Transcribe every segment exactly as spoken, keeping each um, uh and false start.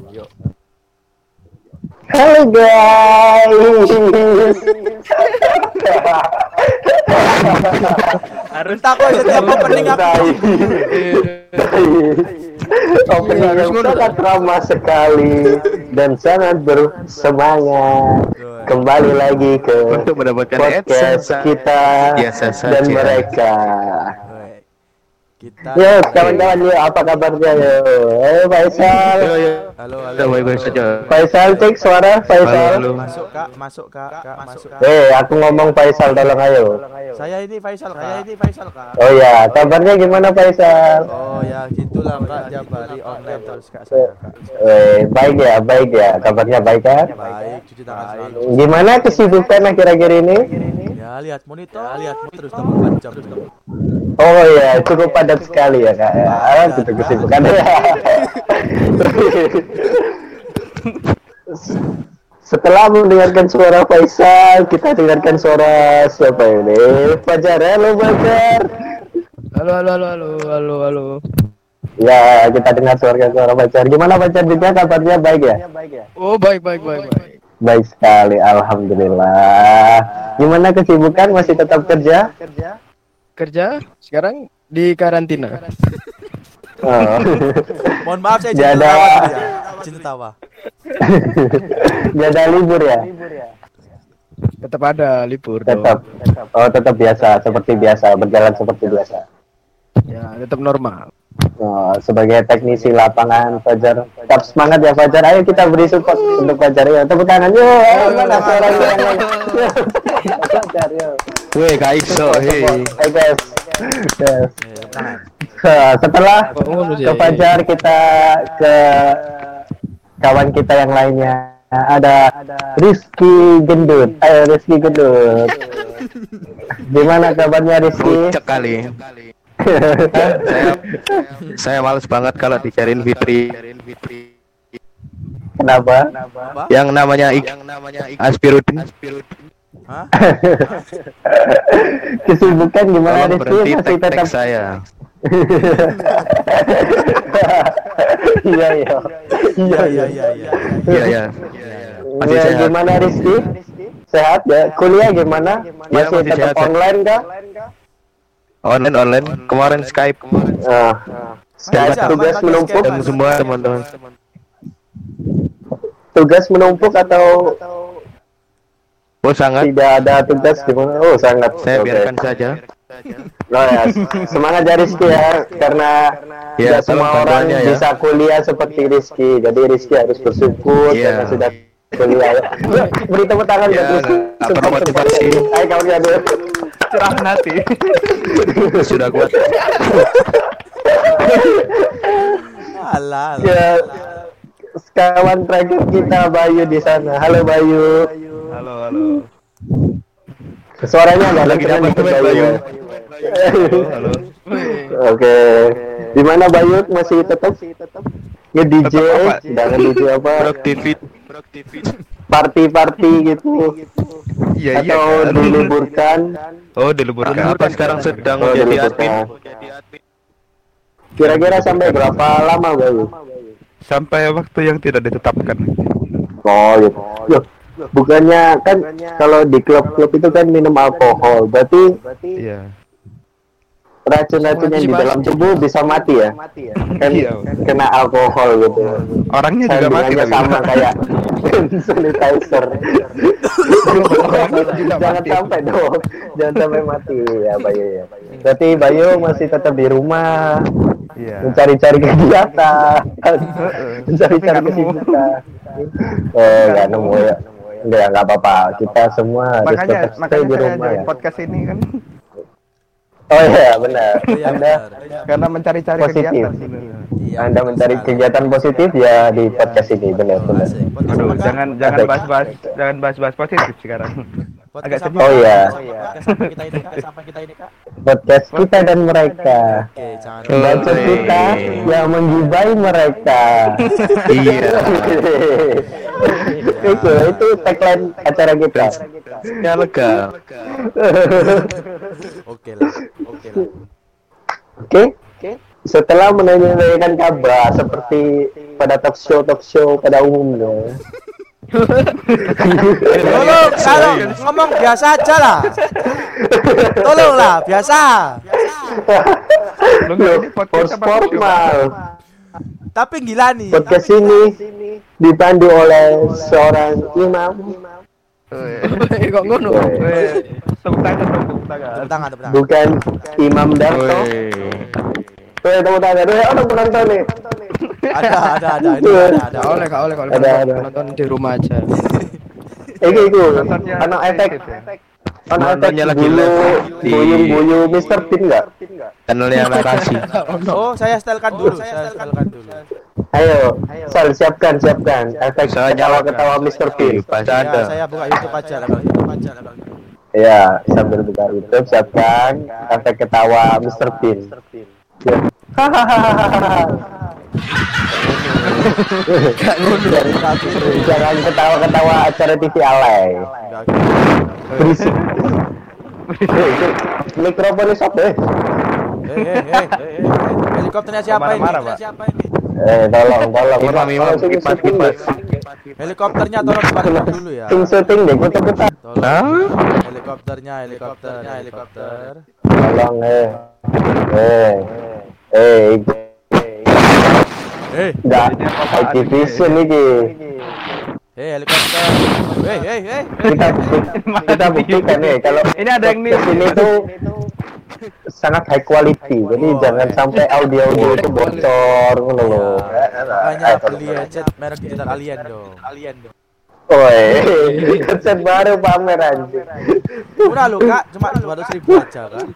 Yuk. Halo guys. Harus takut setiap opening aku. Opening yang sangat ramah sekali dan sangat bersemangat. Kembali lagi ke untuk mendapatkan podcast kita biasa dan saja. mereka. Kita Yo, kawan-kawan, yo, apa kabarnya yo? Eh, Faisal. Yo, yo. Halo, halo. Kita baik-baik saja. Faisal, cek suara Faisal. Halo, halo. Masuk Kak, masuk Kak, Kak, masuk Kak. Eh, aku ngomong Faisal, tolong ayo. Saya ini Faisal, saya ini Faisal Kak. Oh ya, kabarnya gimana Faisal? Oh ya, gitulah Kak, Jabari online terus Kak saya Kak. Eh, baik ya, baik ya. Kabarnya baik kan? Baik, cuci tangan selalu. Gimana kesibukan akhir-akhir ini? Ya, lihat monitor, lihat terus dua puluh empat jam. Oh ya, cukup padat sekali ya kak. Ya, ah, gitu kesibukan. Setelah mendengarkan suara Faisal, kita dengarkan suara siapa ini? Fajar, halo Fajar. Halo, halo, halo, halo, halo, halo. Ya, kita dengar suara suara Fajar. Gimana Fajar juga kabarnya baik ya? Oh, baik, baik, baik, baik. Baik sekali, alhamdulillah. Gimana kesibukan? Masih tetap kerja? Kerja sekarang di karantina. Oh. Mohon maaf saya Jada. cinta tawa dulu ya. Cinta tawa. Jada libur ya? Tetap ada libur Tetap. dong. Oh, tetap biasa, seperti biasa, berjalan seperti biasa. Ya, tetap normal. Oh, sebagai teknisi lapangan Fajar, tetap semangat ya Fajar. Ayo kita beri support untuk Fajar ya. Tepuk tangan yuk. Eh, mana suaranya? Fajar yuk. Weh, Kak Iso, hei. Hey guys. Yes. Eh, tangan. Nah, setelah Oh, ke Fajar kita ke kawan kita yang lainnya. Ada Rizky Gendut. Ayo Rizky Gendut. Gimana kabarnya Rizky? Cek kali. saya saya males banget kalau dicariin Fitri. Kenapa? Apa? Yang namanya Ik Aspirudin. Hah? Kesibukan gimana Tolong Rizky? berhenti Masih tag-tag tetap saya. Iya iya. Iya, iya, iya, iya. Iya, ya. Masih Ya, sehat. gimana Rizky? Sehat ya? Kuliah gimana? Ya, Masih masih tetap sehat, ya. online kah? Online, online. Kemarin Skype. Ah. Skype Masih tugas sama, menumpuk? pakai Dan semua teman-teman. Tugas menumpuk atau Oh, sangat. tidak ada tugas gimana? Oh sangat. Saya Oke. biarkan saja. Oh ya, semangat ya Rizky ya, karena Ya, tidak semua tolong orang bantuannya ya. bisa kuliah seperti Rizky. Jadi Rizky harus bersyukur Iya. karena sudah kuliah. Ya. Yuk, beri tepuk tangan Ya, buat Rizky. nggak perlu motivasi. Ayo kawan ya dulu. Cerahan hati. Sudah kuat. Alah, alah. Ya, kawan terakhir kita Bayu di sana. Halo Bayu. Halo, halo. Suaranya nggak Lagi kedengeran dapat dikit, duit, Bayu. Bayu. Halo. Oke. Di mana Bayu masih tetap nge-D J, Tetap apa? dan nge-D J apa? Produktivit. Party-party gitu. Iya, iya. Atau kan? diliburkan. Oh, diliburkan. Apa sekarang sedang Oh, menjadi diliburkan. admin? Kira-kira sampai berapa lama Bayu? Sampai waktu yang tidak ditetapkan. Oh gitu. Loh, bukannya kan kalau di klub-klub itu kan minum alkohol, berarti Iya. racun-racun yang di dalam tubuh bisa mati ya? Kan Iya. kena alkohol gitu. Orangnya juga mati Kandungannya tapi. sama kayak sanitizer. Jangan sampai dong, jangan sampai mati ya Bayu ya. Berarti Bayu masih tetap di rumah, Iya. mencari-cari kegiatan, mencari-cari kesibukan. Oh nggak nemu ya. Enggak, nggak apa-apa. Kita semua harus Makanya tetap stay makanya di saya rumah join ya. podcast ini kan Oh iya benar. Iya, Anda benar. karena mencari-cari Positif. kegiatan sebenarnya. Iya, Anda betul mencari sekali. kegiatan positif ya di podcast ini benar Oh, benar. asik. Podcast Aduh, apa, Kak? jangan jangan Ada. bahas-bahas jangan bahas-bahas positif sekarang. Podcast agak apa, sedih. Kak? Oh, iya. Podcast apa kita ini Kak? Sampai kita ini Kak. Podcast kita dan mereka. Oke, jangan. Oh, Bacot iya. kita yang menggibai mereka. Iya. Itu itu tagline acara kita. Ya lega. Oke lah. Oke lah. Oke. setelah menanyakan kabar seperti pada talk show talk show pada umumnya. Tolong, kalau ngomong biasa aja lah. Tolonglah, biasa. Lu nggak ini podcast apa talk show? Formal. Tapi gila nih. Podcast ini dipandu oleh seorang imam. Eh, kok ngono? Weh, tepuk tangan dong, tepuk tangan. Tepuk tangan, tepuk tangan. Bukan Imam Darto. Weh, tepuk tangan. Weh, orang penonton nih. Ada, ada, ada, ini ada, ada. Oleh kak, oleh kalau Ada, ada. nonton di rumah aja. Iki iku. Nontonnya Ana efek. sedikit ya. Ana efek Nontonnya lagi bulu live di- buyung-buyung mister Bean enggak? Channelnya narasi. Oh, saya setelkan dulu, saya setelkan dulu. Ayo, Sal siapkan, siapkan. Efek Saya ketawa-ketawa mister Bean. Pasti Ya, ada. saya buka YouTube aja lah, YouTube aja lah. Ya, sambil buka YouTube siapkan efek ketawa mister Bean. Ya. Jangan ketawa-ketawa acara T V alay. Berisik. Mikrofonnya stop deh. Eh, eh, eh, eh, eh, helikopternya siapa ini? Marah-marah, Pak. Siapa ini? Eh, tolong, tolong. Imam, imam, Tolong, syuting, kipas, syuting kipas. deh. Helikopternya tolong dipadamkan dulu ya. Syuting, syuting deh, kutu-kutu. Tolong. Helikopternya, helikopternya, helikopter. Tolong, eh. Eh. Eh, Eh, enggak Activision iki. eh, helikopter. Eh, eh, eh. Kita kita buktikan nih kalau Ini ada yang nih. ini tuh sangat high quality. Jadi Oh, jangan eh. sampai audio-audio itu bocor ngono loh. Makanya beli headset merek digital Alien dong. Alien dong. Oi, headset baru pamer anjir. Murah loh kak, cuma dua ratus ribu aja kan.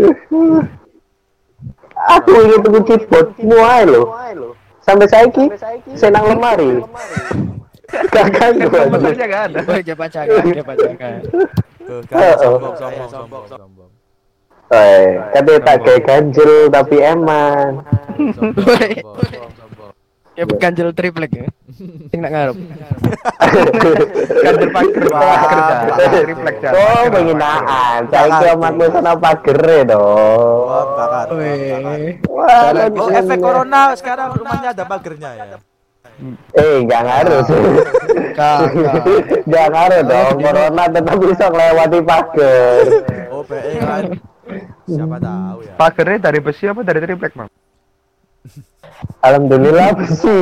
Aku ingin tunggu keyboard muai loh. Sampai saiki senang lemari. Kakak gua. Komputernya nggak ada. Oh, dia pacakan, dia pacakan. Tuh kan, sombong, sombong, sombong, sombong. Oi, katanya tak kayak ganjel tapi eman. Sombong, sombong, sombong. Ya ganjel triplek ya. Sing nak ngarep. Kantor pager, pager dah. Refleks dah. Oh, penghinaan. Saiki omakmu sana pagere Wah, dong. bakar. Weh. Wah, Oh, efek corona sekarang rumahnya ada pagernya ya. Eh, enggak ngaruh. Kakak. Enggak ngaruh dong. Corona tetap bisa melewati pagar. Oh, B E kan. Siapa tahu ya. Pagernya dari besi apa dari triplek, Mang? Alhamdulillah besi.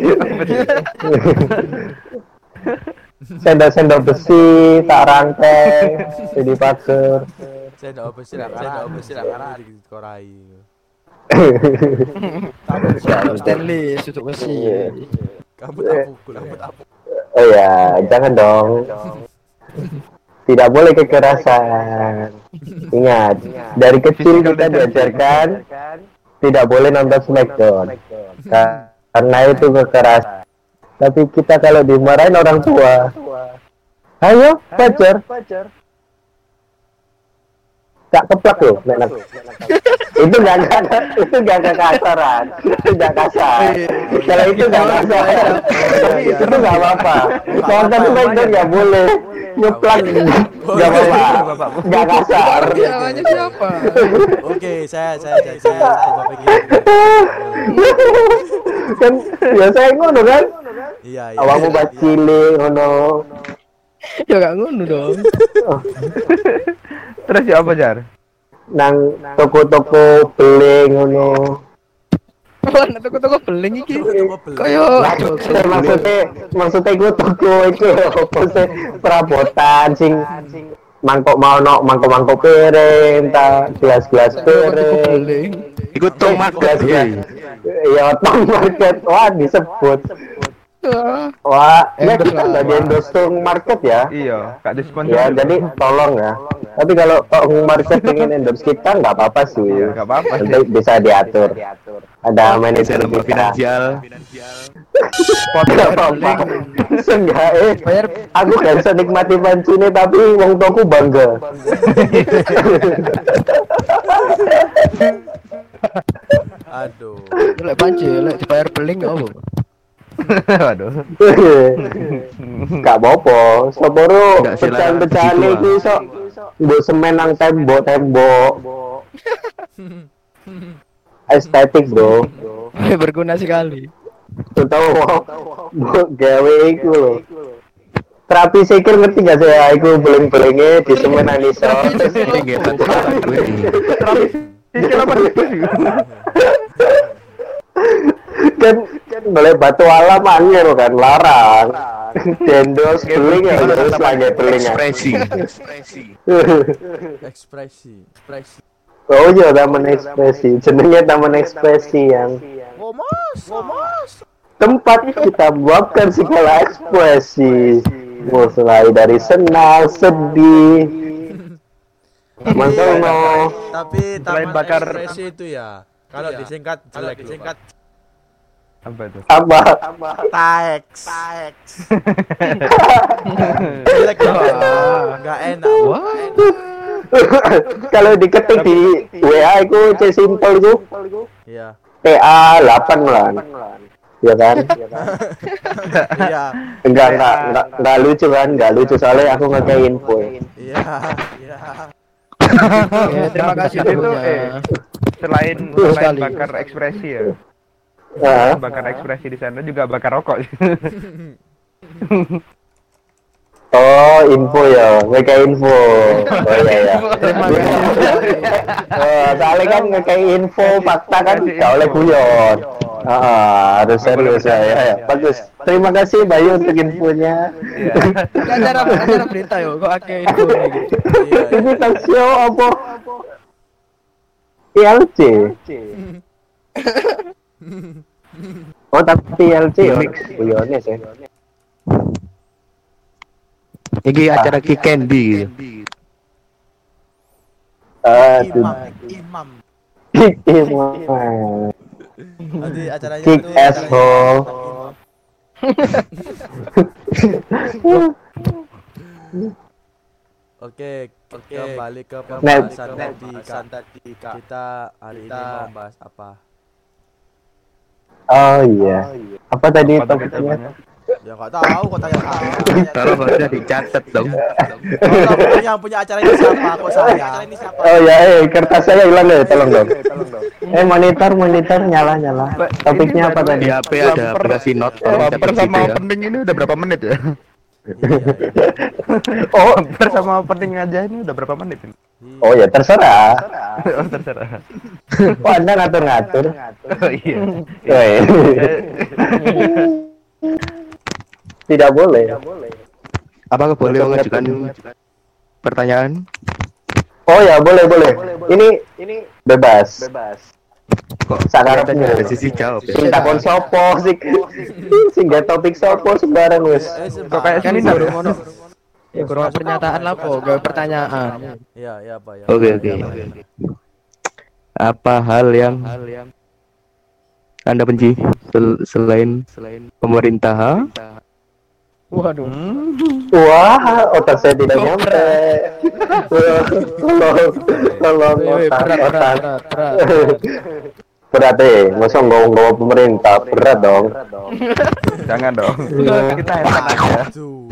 Sendok-sendok besi tak rangkai jadi pagar. Saya enggak besi lah, saya enggak besi lah karena di korai. Stanley sudut besi. Kamu tak pukul, kamu tak pukul. Oh ya, jangan dong. Tidak boleh kekerasan. Ingat, dari kecil kita diajarkan tidak boleh nonton Smackdown karena itu kekerasan. Tapi kita kalau dimarahin orang tua, ayo pacar, tak keplak loh, menak. Itu nggak nggak itu nggak kekasaran, itu nggak kasar. Kalau itu nggak kasar, itu nggak apa-apa. Nonton Smackdown nggak boleh, nyeplak nggak apa-apa, nggak kasar. Namanya siapa? Oke, saya saya saya saya coba pikir. Kan biasanya ngono kan? Iya, iya. Awakmu bacile ngono. Ya gak ngono dong. Terus ya apa, Jar? Nang toko-toko beli ngono. Wah, nek toko-toko beling iki. Kaya Maksudnya maksudnya maksudnya gue toko itu apa sih perabotan sing mangkok mau no mangkok mangkok piring ta gelas-gelas piring ikut tong market. ya tong market wah disebut wah ya kita nggak di endorse tong market ya Iya, Kak disponsor. ya jadi tolong ya tapi kalau tong market pengen endorse kita nggak apa-apa sih Iya, nggak apa-apa sih. nanti bisa diatur ada manajer Nomor kita finansial. Nggak apa-apa seenggak eh aku gak bisa nikmati pancine tapi wong tuaku bangga Aduh. Lek panci, lek dibayar beling gak apa? Waduh. gak apa-apa sepuro Nggak sih, lah, pecahan-pecahan begitu, iki iso mbok semen nang tembok-tembok estetik bro. Berguna sekali. Tahu mau gawe iku lho. Terapi sikil ngerti gak saya? Iku beling-belingnya di semen Anissa. Terapi sikil apa sih? Kan boleh batu alam angin kan larang. Dendos beling ya harus pakai beling. Ekspresi. Ekspresi, ekspresi. Oh iya taman ekspresi. Jenenge taman ekspresi yang Ngomos, ngomos. tempat kita meluapkan segala ekspresi. Mulai dari senang, sedih, mantul no. Tapi Selain taman bakar- ekspresi itu ya. Kalau disingkat jelek, disingkat Apa itu? Apa? taeks. Taeks. Jelek banget. Enggak enak. Kalau diketik di W A itu C simple itu Iya. T A delapan lah. Ya kan? Iya. Enggak enggak enggak enggak lucu kan? Enggak lucu soalnya aku ngekei info. Iya. Iya. Ya, terima kasih Itu dulunya. eh selain Betul selain sekali. bakar ekspresi ya. Heeh. Bakar ekspresi di sana juga bakar rokok. Oh, info ya, ngekei info. Oh iya ya. Oh, soalnya kan ngekei info fakta kan enggak oleh guyon. Ah, harus serius ya, ya, ya. Bagus. Terima kasih Bayu untuk infonya. Kan cara cara berita yo kok akeh info gitu. Iya. Ini talk show apa? T L C. Oh, tapi T L C ya, guyonnya sih. Iki acara Ki Candy gitu. Aduh. Imam, imam. Imam. Nanti acaranya Kick itu asshole. Oke, oke, kembali ke Net. pembahasan tadi. Kan tadi kita hari ini mau bahas apa? Oh iya. Apa tadi Apa tuh topiknya? Ya nggak tahu, kok tanya saya. Kalau harusnya dicatat dong. Kalau punya punya acara ini siapa? Kok saya? Oh ya, eh kertas saya hilang deh, tolong dong. Eh monitor monitor nyala nyala. Topiknya apa tadi? Di H P ada aplikasi note. Tolong catat Baper gitu sama ya. opening ini udah berapa menit ya? Oh, Baper sama opening aja ini udah berapa menit ini? oh ya terserah. Oh terserah. Oh Anda ngatur-ngatur. Oh iya. Oh, iya. Tidak boleh. Apakah boleh mengajukan pertanyaan? Oh ya boleh boleh. Ini ini bebas. Kok Sakarepnya. ada sisi jawab ya? Sing takon sopo sing sing gak topik sopo sembarang wis. Eh, Kok kayak Kan seminar baru ya? ngono. Ya kurang pernyataan lah kok, gak pertanyaan. Iya, iya apa ya? Oke oke. Apa hal yang Anda benci sel- selain selain pemerintah? Waduh. Wah, otak saya tidak nyampe. Tolong, tolong Woi, otak, berat, berat, otak. berat, berat. Berat deh, masa ngomong-ngomong pemerintah, berat dong. Jangan dong. Kita enak aja. Aduh.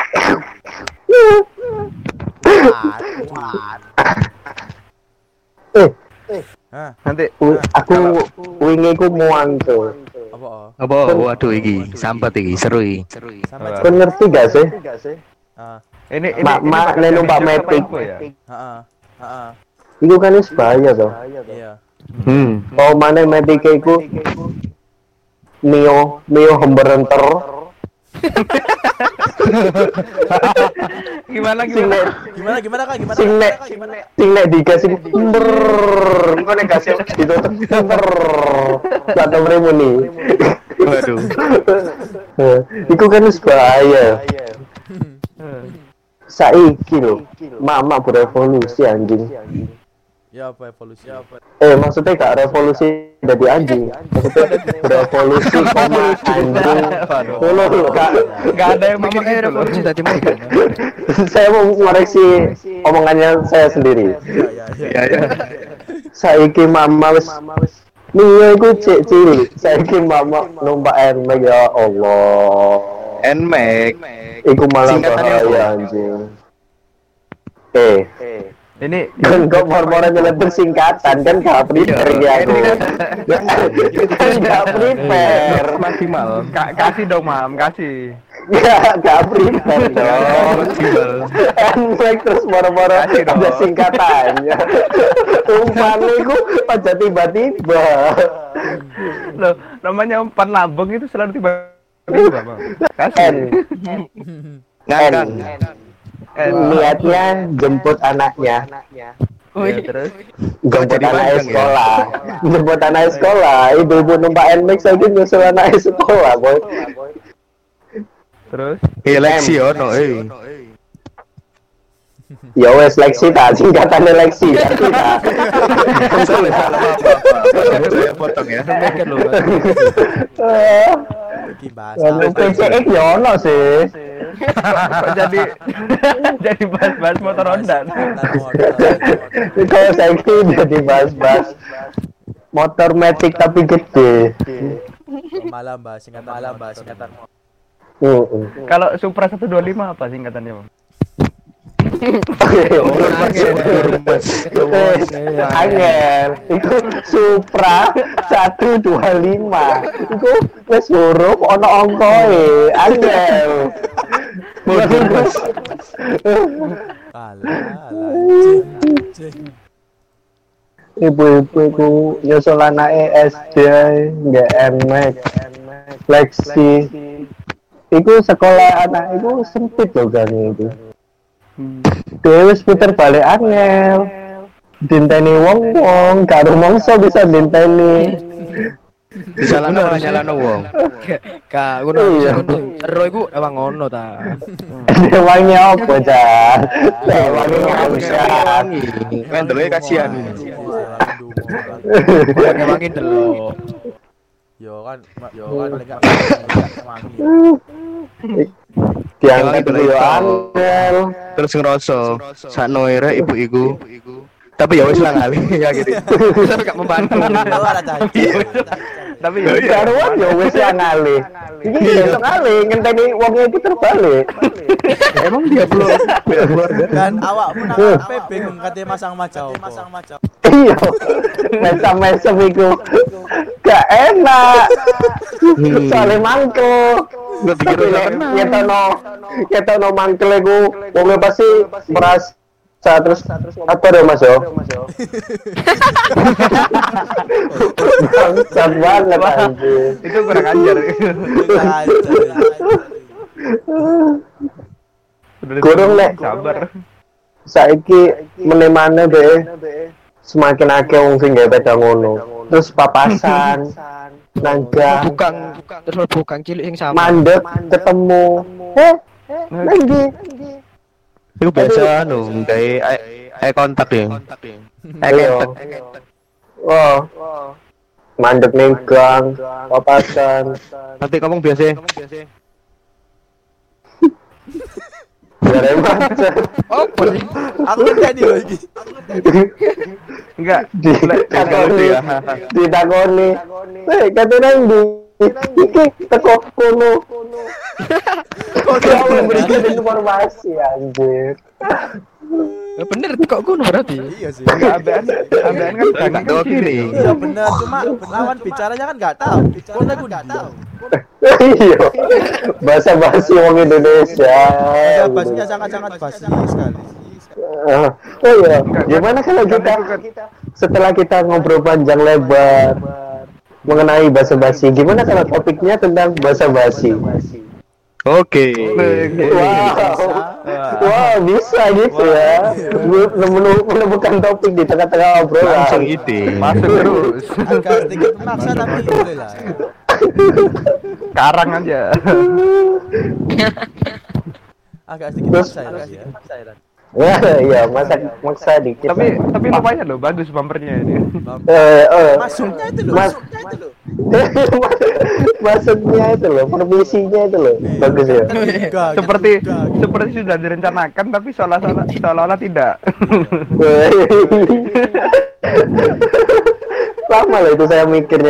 Eh, Hah? Nanti wi- aku wingi ku muang tuh. Apa? oh? Apa? Waduh iki sambat iki seru iki. Sampai Kau ngerti gak sih? ah, ini ini Mak- ini mak, bakal nenu jadi Pak jokes apa Metik. info ya? heeh. Heeh. Iku kan wis bahaya toh. Iya. Hmm. Oh mana medike iku Mio, Mio hemberenter. Gimana Sing gimana? nek Gimana gimana Kak? Gimana? sing nek sing nek dikasih ber engko nek kasih ditutup ber gak tau mremuni. Waduh. Iku kan wis bahaya. Saiki lho, mama berevolusi anjing. Ya apa evolusi? Ya apa? Eh maksudnya gak revolusi dari anjing. Maksudnya berevolusi koma anjing. Ngono lho, Kak. Gak ada yang mikir Mama kayak gitu loh. revolusi tadi mau. Saya mau ngoreksi omongannya saya sendiri. Iya, iya, iya. Ya ya. Saiki mama wis Mio iku cek cilik. Saiki mama numpak Nmax ya Allah. Nmax. Iku malah Singkatannya apa? bahaya anjing. Eh, Ini Kan kok mor-moran nyeletuk singkatan kan gak prepare ya aku. Kan gak prepare. maksimal. Ka- kasih dong, Mam, kasih. Gak gak prepare dong. Enlek terus mor-moran Kasih dong. ada singkatannya. Umpannya ku aja tiba-tiba. Loh, namanya umpan lambung itu selalu tiba-tiba, Bang. Kasih. N Ngangkang. Eh, niatnya jemput anaknya. ya, terus Jemput jadi anak panjang ya? sekolah. Jemput anak sekolah. Ibu-ibu numpak N M A X lagi nyusul anak sekolah, boy. terus Iya Lexi ono eh. Ya wes Lexi ta, singkatannya Lexi. Lexi ta. Salah salah apa-apa. Saya potong ya. Mikir lho. Eh, Iki bahasa. P C X ya ono sih. kok jadi jadi bahas-bahas motor Honda. Kalau saya jadi bahas-bahas motor matic tapi gede. Malam bahas singkatan malam bahas singkatan. Heeh. Kalau Supra seratus dua puluh lima apa singkatannya, Bang? Angel, itu Supra seratus dua puluh lima. Itu wis huruf ono angkoe. Angel. Alah, alah. Cing, cing. Ibu-ibu ku nyusul anake S D nggak N M A X, Lexi. Iku sekolah anak iku sempit loh kan itu. Dewe wis puter balik angel. Dinteni wong-wong, karo mongso bisa dinteni. Disalahno ora nyalahno wong. Kak, ngono ngono. Ero iku emang ngono ta. Dewangnya apa, Cak? Dewangnya ngangkat. Mendelnya kasihan. Emangin delok. Yo kan, yo kan paling gak wangi. Diangkat dulu yo angel. Terus ngerasa sakno ere ibu iku. Tapi ya wis lah ngali ya gitu. Tapi gak membantu. Ora caci. Tapi ya Karuan yo wis ya ngali. Iki besok kali ngenteni wongnya itu terbalik. Emang dia belum punya keluarga. Dan awakmu nang P B bingung kate masang macau. Masang macau. Iya. Mesam-mesam iku. Gak enak. Soalnya mangkel. Gue pikir udah kenal. Nyetono, nyetono mangkel iku wongnya pasti merasa terus apa deh Mas yo? Bangsat banget anjir. itu kurang ajar. Kurang nek Sabar. saiki menemane deh semakin akeh wong sing gawe peda ngono. Terus papasan nangga Bukan terus bukan cilik sing sama. mandek ketemu. Eh, lagi. Itu biasa anu gawe eye eye contact ya. Eye Iya. contact. Wah. Mandek ning gang, papasan. Nanti ngomong biasa. Jare macet. Oh, boleh. Aku tadi lho iki. Enggak. Ditakoni. Ditakoni. Eh, kate nang ndi? Iki teko kono. Kok dia memberikan informasi anjir. Ya bener kok ngono berarti. Iya sih. Enggak ambean. Ambean kan Tak jangan tahu kiri. Iya benar, cuma lawan bicaranya kan enggak tahu. Kono aku enggak tahu. Iya. Bahasa basi wong Indonesia. Ya bahasanya sangat-sangat basi sekali. Ah, oh iya, gimana kalau kita setelah kita ngobrol panjang lebar mengenai bahasa basi, gimana kalau topiknya tentang bahasa basi? Oke. Wow, wow bisa gitu ya, Menemu- menemukan topik di tengah-tengah obrolan. Langsung ide. masuk terus. Agak sedikit memaksa tapi boleh lah. Karang aja. Agak sedikit Terus- memaksa ya. Ya, iya, masa maksa dikit. Tapi lah. tapi lumayan loh, bagus bumpernya ini. eh, eh, Masuknya itu loh, Mas- masuknya itu loh. Masuknya itu loh, permisinya itu loh, bagus ya. Enggak, Seperti enggak. seperti sudah direncanakan tapi seolah-olah seolah-olah tidak. Lama loh itu saya mikirnya.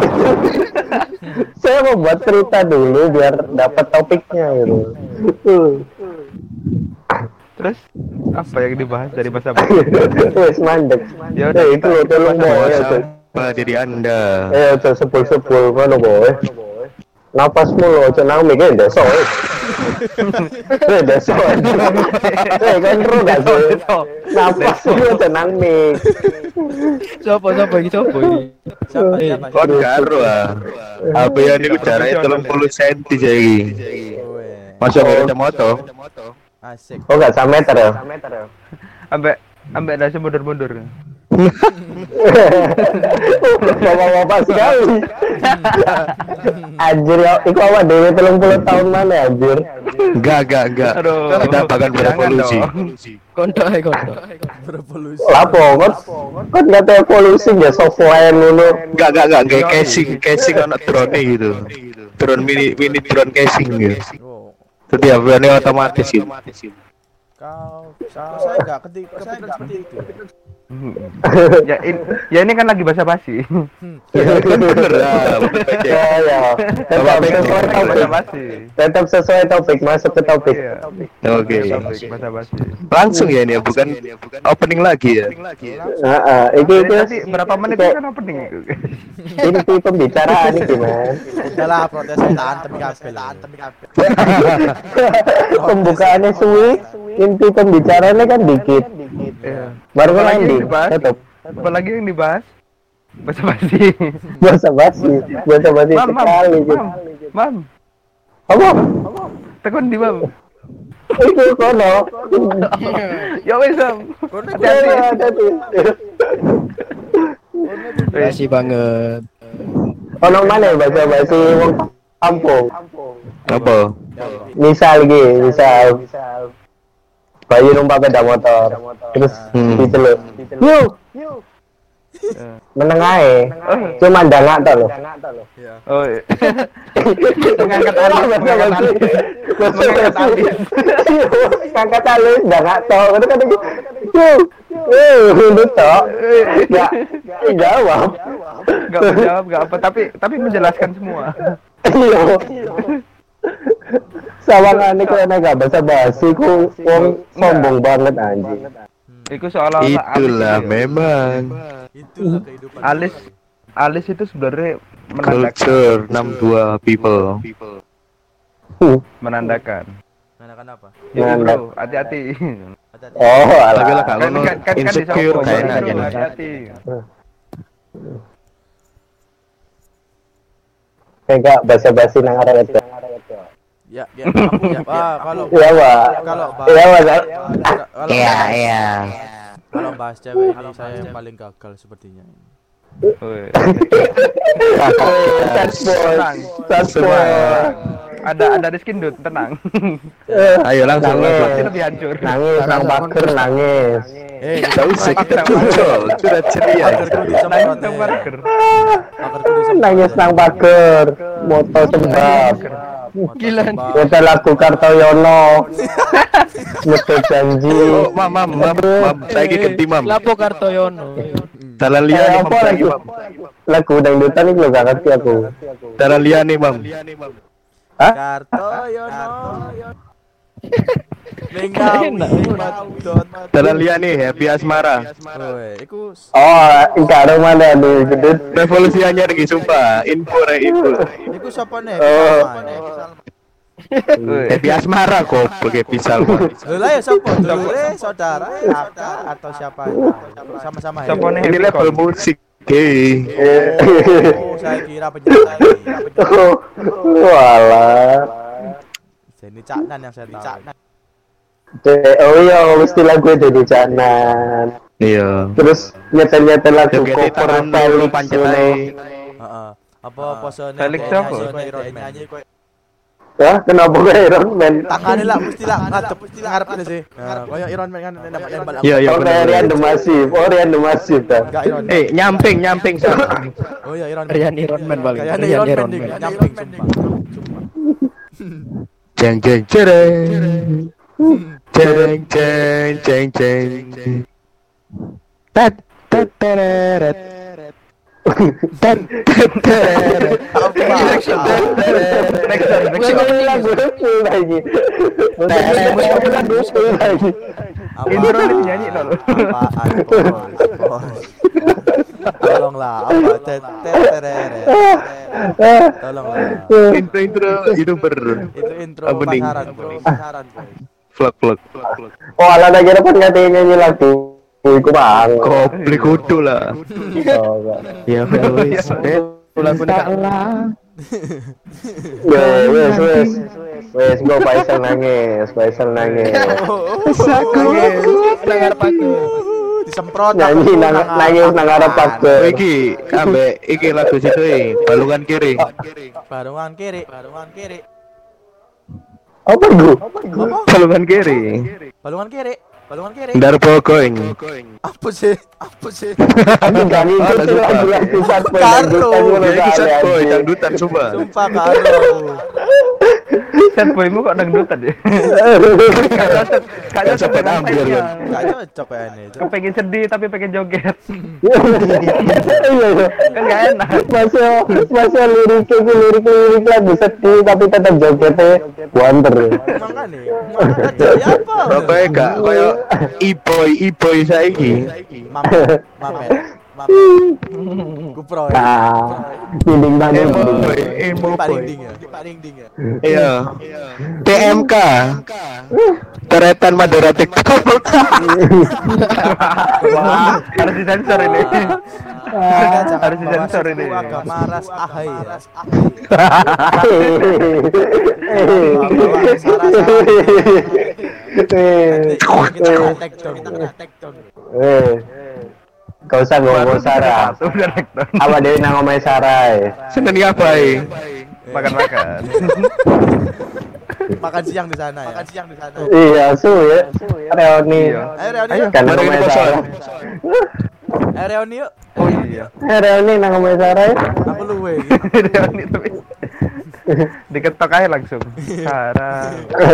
Saya mau buat cerita dulu biar dapat topiknya gitu. Terus apa yang dibahas dari bahasa basi? Wes mandek. Ya Ya itu loh tolong boy ya. Sama diri Anda. Eh aja sebul-sebul ngono boy. Napasmu lo aja nang mikir deso. Eh deso. Eh kan ro gak sih. Napasmu aja nang mik. Sopo sopo iki sopo iki? Siapa siapa? Kon karo ah. H P yang niku jarake tiga puluh sentimeter saiki. Weh, Masuk ke kacamata. asik. Oh enggak satu meter ya? Ambek ambek nasi mundur-mundur. Bapak-bapak sekali. Anjir ya, iku awak dhewe tiga puluh tahun mana anjir? Enggak, enggak, enggak. Aduh. Kita bahkan berevolusi. Kondo ae kondo. Berevolusi. Lapo kok kok enggak ada evolusi ya software dulu. Enggak, enggak, enggak, kayak casing, casing ono drone gitu. Drone mini mini drone casing gitu. Oh, Setiap ini otomatis gitu. kau, kau saya enggak ketika kepikiran seperti itu. Ya ini ya ini kan lagi bahasa basi. Ya kan bener lah. Ya ya. Tetap sesuai Bahasa topik. basi. Tetap sesuai topik, masuk ke topik. Iya. Oke. Topik bahasa basi. Langsung ya ini ya, bukan opening lagi ya. Heeh, iki iki Tadi berapa menit itu kan opening itu? inti pembicaraan iki, Man. Udahlah protes saya tantem kabel. Tantem kabel. Pembukaannya suwi, inti pembicaraannya kan dikit. Iya. Baru kan Apalagi yang ending. dibahas? Tetap Apalagi yang dibahas? Bahasa basi. bahasa basi, bahasa basi Mam, mam, sekali gitu. mam, mam, Apa? tekun di mam. Itu kono. Ya wes mam. Hati-hati, hati-hati. Makasih banget. Ono mana bahasa basi wong kampung? Apa? Misal gitu, misal bayi numpak sepeda motor, terus Hmm. diceluk, yuk, meneng ae, cuma ndangak tok lho. Oh, iya. Mengangkat alis, mengangkat alis, mengangkat alis. Ngangkat alis, ndangak tok, itu kan yuk, yuk, itu tok, nggak jawab, Gak menjawab, gak apa, tapi tapi menjelaskan semua. iya. Sawangane kok enak gak bahasa basi ku wong sombong banget anjing. Itu seolah-olah Itulah alis itu. memang Itulah kehidupan. Alis, alis itu sebenarnya menandakan, culture enam dua people. menandakan. Menandakan apa? Jadi bro, hati-hati. Hati-hati. Oh, Tapi lah alah. kalau no insecure disokong, kayak bro, enak hati-hati. Kayak bahasa basi nang arek itu. Ya, ya, kamu ya. Ah, kalau Iya, Pak. kalau bahas Iya, Pak. kalau Iya, bahas- iya. kalau bahas cewek ini saya yang paling gagal sepertinya. Woi. Sad boy. Sad boy. Ada ada Rizkin Dut, tenang. Ayo langsung Nangis. Pasti langsung. lebih hancur. Nangis nang baker nangis. Eh, Tidak usah kita muncul, sudah ceria. Pagerku Nangis disemprot. dong, Parker. Pagerku disemprot. Nangis nang baker. Moto sebab. Gila. Kita lagu Kartoyono. Metu janji. Oh, mam, mam, mam, mam, saya ganti mam. Lapo Kartoyono. Dalam Eh, liane mam, apa saya lagu? mam. Lagu dangdutan ini lo gak ngerti aku. Dalam liane mam. Hah? Kartoyono. Mengawi madot. Dalam liane happy asmara. Woi, iku Oh, enggak ada mana nih, gedut. Revolusi anyar lagi sumpah. Info re info. iku sapa nih? Oh. Woi. Happy asmara kok pakai pisau. Lho lah ya sapa? Dulure, saudara, kakak atau siapa? Sama-sama ya. Siapa nih? Ini level musik. Oke. Oh, saya kira penyanyi. Walah. Ini Caknan yang saya tahu. De- Oh iya, mesti lagu jadi janan. Iya. Terus nyetel-nyetel lagu Joget cover tahun Felix pancet ngono. ae. Heeh. Apa posone Felix kayak siapa? nyanyi, kayak Iron Man. Hah? Kenapa kayak Iron Man? Tangannya lah mesti lah ngadep ngarep ini sih. Nah, kayak Iron Man kan nembak-nembak aku. Iya, iya Oh, kayak Rian benar. the Massive. Oh, Rian the Massive dah. Enggak Iron Man. Eh, nyamping, nyamping sana. Oh iya Iron Man. Rian Iron Man paling. Kayaknya Rian Iron Man Iron ding, Man. nyamping sumpah. Jeng jeng cereng. Jeng jeng jeng jeng. Tat tat teret. Dan Musik opening lagu full lagi. Musik opening lagu full lagi. Intro ini nyanyi dulu. Apaan, bos? Tolonglah, apa? Tet tet terere. Tolonglah. intro intro youtuber Itu intro Opening. pasaran, bro. Pasaran, boy. vlog vlog. Oh, ala lagi dapat ngerti nyanyi lagu. Iku bang. Kopli kudu lah. Oh, enggak. Ya wis. Eh, Lagu kalah. Ya, wes wes. Wes go Faisal nangis, Faisal nangis. Dengar paku. Disemprot Nyanyi aku, nang nang nangis apa? nang arep paku. Iki ambek iki lagu situ e, balungan kiri. Barungan kiri, barungan kiri. Apa itu? Apa? Balungan kiri. Balungan kiri, balungan kiri. Ndar pokoing. Apa sih? Apa sih? Aku gak ngikutin lagu-lagu sad boy. Karo. Ya iki sad boy dangdutan sumpah. Sumpah karo. Sad boymu kok dangdutan ya? Kayaknya Sampai ambil, kan? Gak cocok kayaknya itu. Kepengen sedih tapi pengen joget. Iya, iya. Kan gak enak. Masa masa lirik itu lirik lirik lagu sedih tapi tetap jogetnya wonder. Makanya, makanya ya apa? Pokoke gak koyo e-boy e-boy saiki. Mamet, mamet, mamet. Kupro ya. Nah, dinding banget. Emo boy, emo Pak boy. Ding ya, Pak Ding Ding ya. Iya. T M K. Teretan Madura TikTok. Wah, harus disensor ini. Harus disensor ini. Agama ras ahai. Ras Kita kena take down, kita kena take down. Eh, kau usah ngomong Sarah. Udah rektor. Apa dia nang ngomong Sarah? Seneng apa e? Makan-makan. Makan siang di sana ya. Makan siang di sana. Iya, su ya. Reoni. Iya. Ayo Reoni. Ayo. yuk. Kan Mari ngomong kita Sarah. Ayo Reoni yuk. Oh iya. Eh, Reoni nang ngomong Sarah. ya. Aku luwe. Reuni tapi diketok aja langsung. Sarah.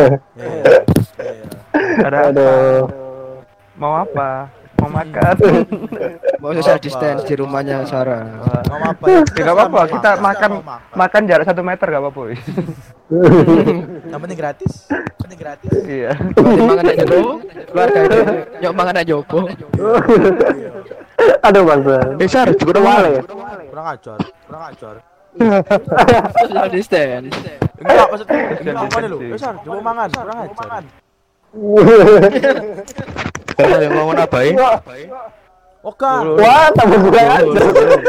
Ada apa? Aduh. Mau apa? Mau makan? Mau social distance di rumahnya Sarah. Mau apa ya? Ya gak apa-apa, kita makan makan jarak satu meter gak apa-apa. Yang penting gratis. Yang penting gratis. Iya. Berarti mangan aja dulu. Keluarga itu nyok mangan aja opo. Aduh, Bang. Eh Sar, juga Wale. Kurang ajar, kurang ajar. Social distance. Enggak maksudnya. Enggak apa nih lu? Eh Sar, coba mangan, kurang ajar. Kalau yang ngomong apa e? Oke. Wah, tambah kurang ajar.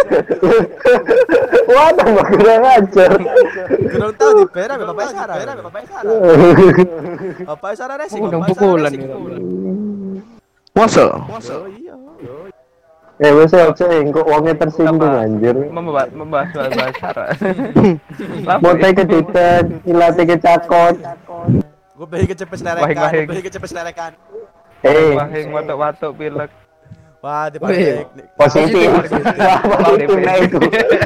Wah, tambah kurang ajar. Kurang tahu di pera Bapak Sarah. Bapak Sarah. Bapak Sarah racing. Udah Bapak Sarah pukulan racing. gitu. Masa? Oh iya. Eh, wes aja engko wonge tersinggung anjir. Membahas membahas bahasa Sarah. Mau take ketitan, ilate kecakot. Gue pengen kecepet selerekan. Wahing-wahing. Gue pengen kecepet selerekan. Eh, Wahing watuk-watuk pilek. Wah, di Wih. positif. Wah, positif nah itu.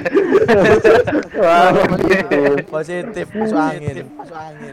Wah, positif. positif masuk angin. Masuk angin.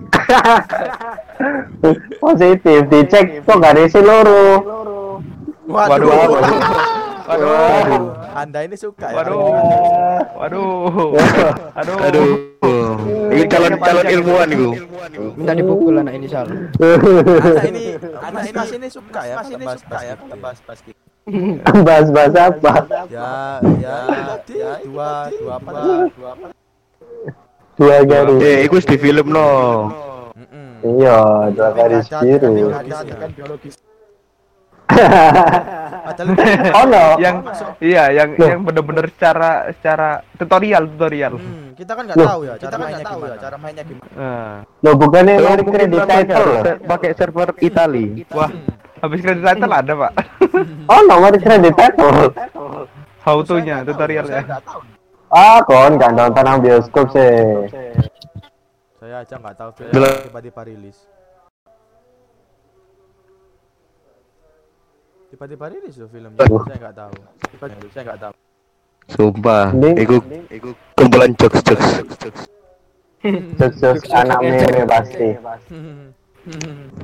Positif dicek kok gak ada isi loro. Waduh. Waduh. Waduh. Anda ini suka ya. Waduh. Waduh. Aduh. Aduh. Ini calon-calon ilmuwan iku. Minta dipukul anak ini Sal. Anak ini, anak ini mas ini suka ya. Mas ini suka ya. Bahas-bahas gitu. Bahas-bahas apa? Ya, ya, ya, dua, dua apa? Dua apa? Dua garis. Eh, iku wis di film no. Mm-mm. Iya, dua garis biru. Kan biologis. Padahal Oh no. Yang iya, yang yang bener-bener secara secara tutorial tutorial. Hmm, kita kan nggak tahu ya cara mainnya gimana. Cara mainnya gimana. Nah. Lo bukannya Oh, lari mungkin kredit namanya title loh. se- pakai server Itali. Wah, habis kredit title ada, Pak. Oh no, lari kredit title. How to-nya tutorialnya. Ah, kon kan nonton nang bioskop sih. Saya aja nggak tahu film Belum. tiba-tiba rilis. Tiba-tiba rilis loh filmnya. Saya nggak tahu. Tiba-tiba saya nggak tahu. Sumpah, Ini- iku iku kumpulan jokes-jokes. Sus-sus anak meme pasti.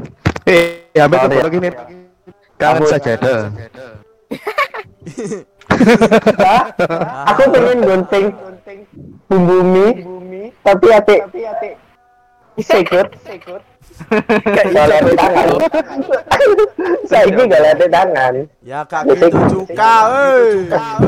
Eh, ya ambil Sorry. kalau gini. Kangen Aku- saja dah. Hah? Aku pengen gunting bumbu mie, tapi ate sikut. Kalau ada tangan. Saya ini gak ada tangan. Ya kak gitu juga, eh.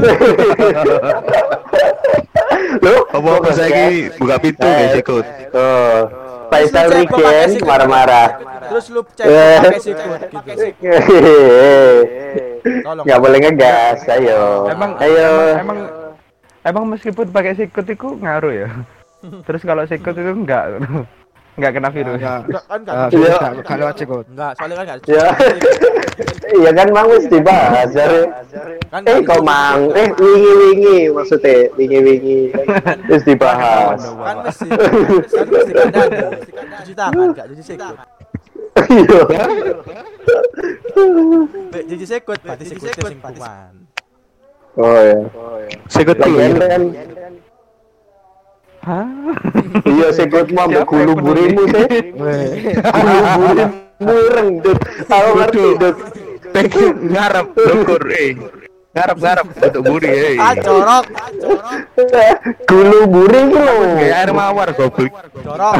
Loh, Apa saya ini buka pintu guys ikut. Oh, Faisal Terus lu cek pakai weekend sikut. marah-marah. Terus lu cek pakai sikut gitu. Tolong. Nggak boleh ngegas, ayo. Emang ayo. emang emang, emang meskipun pakai sikut itu ngaruh ya. Terus kalau sikut itu enggak enggak kena virus. Enggak. Enggak kan enggak. Ah, Iya. enggak enggak lewat sikut. Enggak, soalnya kan enggak. Ya. Iya kan mang wis dibahas jare. Kan Eh kok mang, eh wingi-wingi maksudnya wingi-wingi terus dibahas. Kan mesti kan mesti kandang. Cuci tangan, enggak cuci sikut. Iya. Nek cuci sikut berarti sikutnya sing kuman. Oh ya. Sikut dulu. Lagian kan Hah? iya sikut mau ambek Siapa gulu yang peduli? burimu sih. Gulu burimu rengdut. Aku ngerti dut. Pengen ngarep dukur eh. Ngarep-ngarep untuk buri eh. Ah, corok. Gulu buri ku lho. Kayak air mawar goblok. Corok.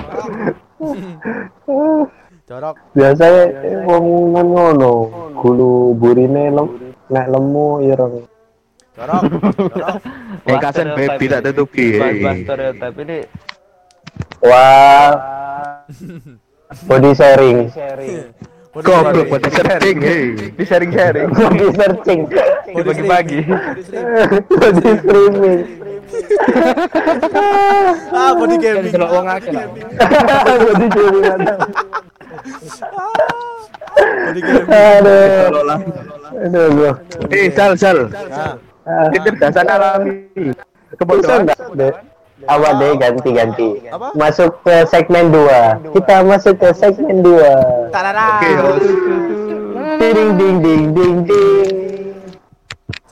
Corok. Biasanya wong nang ngono, gulu burine lem nek lemu ireng. Jorok, jorok. Eh kasen baby tak tutupi. Bahas stereotip ini Wah. Body sharing. Goblok pada setting eh. di sharing-sharing, Body searching. dibagi-bagi. Body streaming. Ah, body gaming. Delok wong akeh. Body streaming ada. Body gaming. Aduh. Aduh. bro. Eh sal sal. Nah, Ah, Kecerdasan alami. bisa Kebodohan. enggak? Dek? Awal deh ganti-ganti. Apa? Masuk ke segmen dua. Kita masuk ke segmen dua. tarara. Oke, host. Ding ding ding ding ding.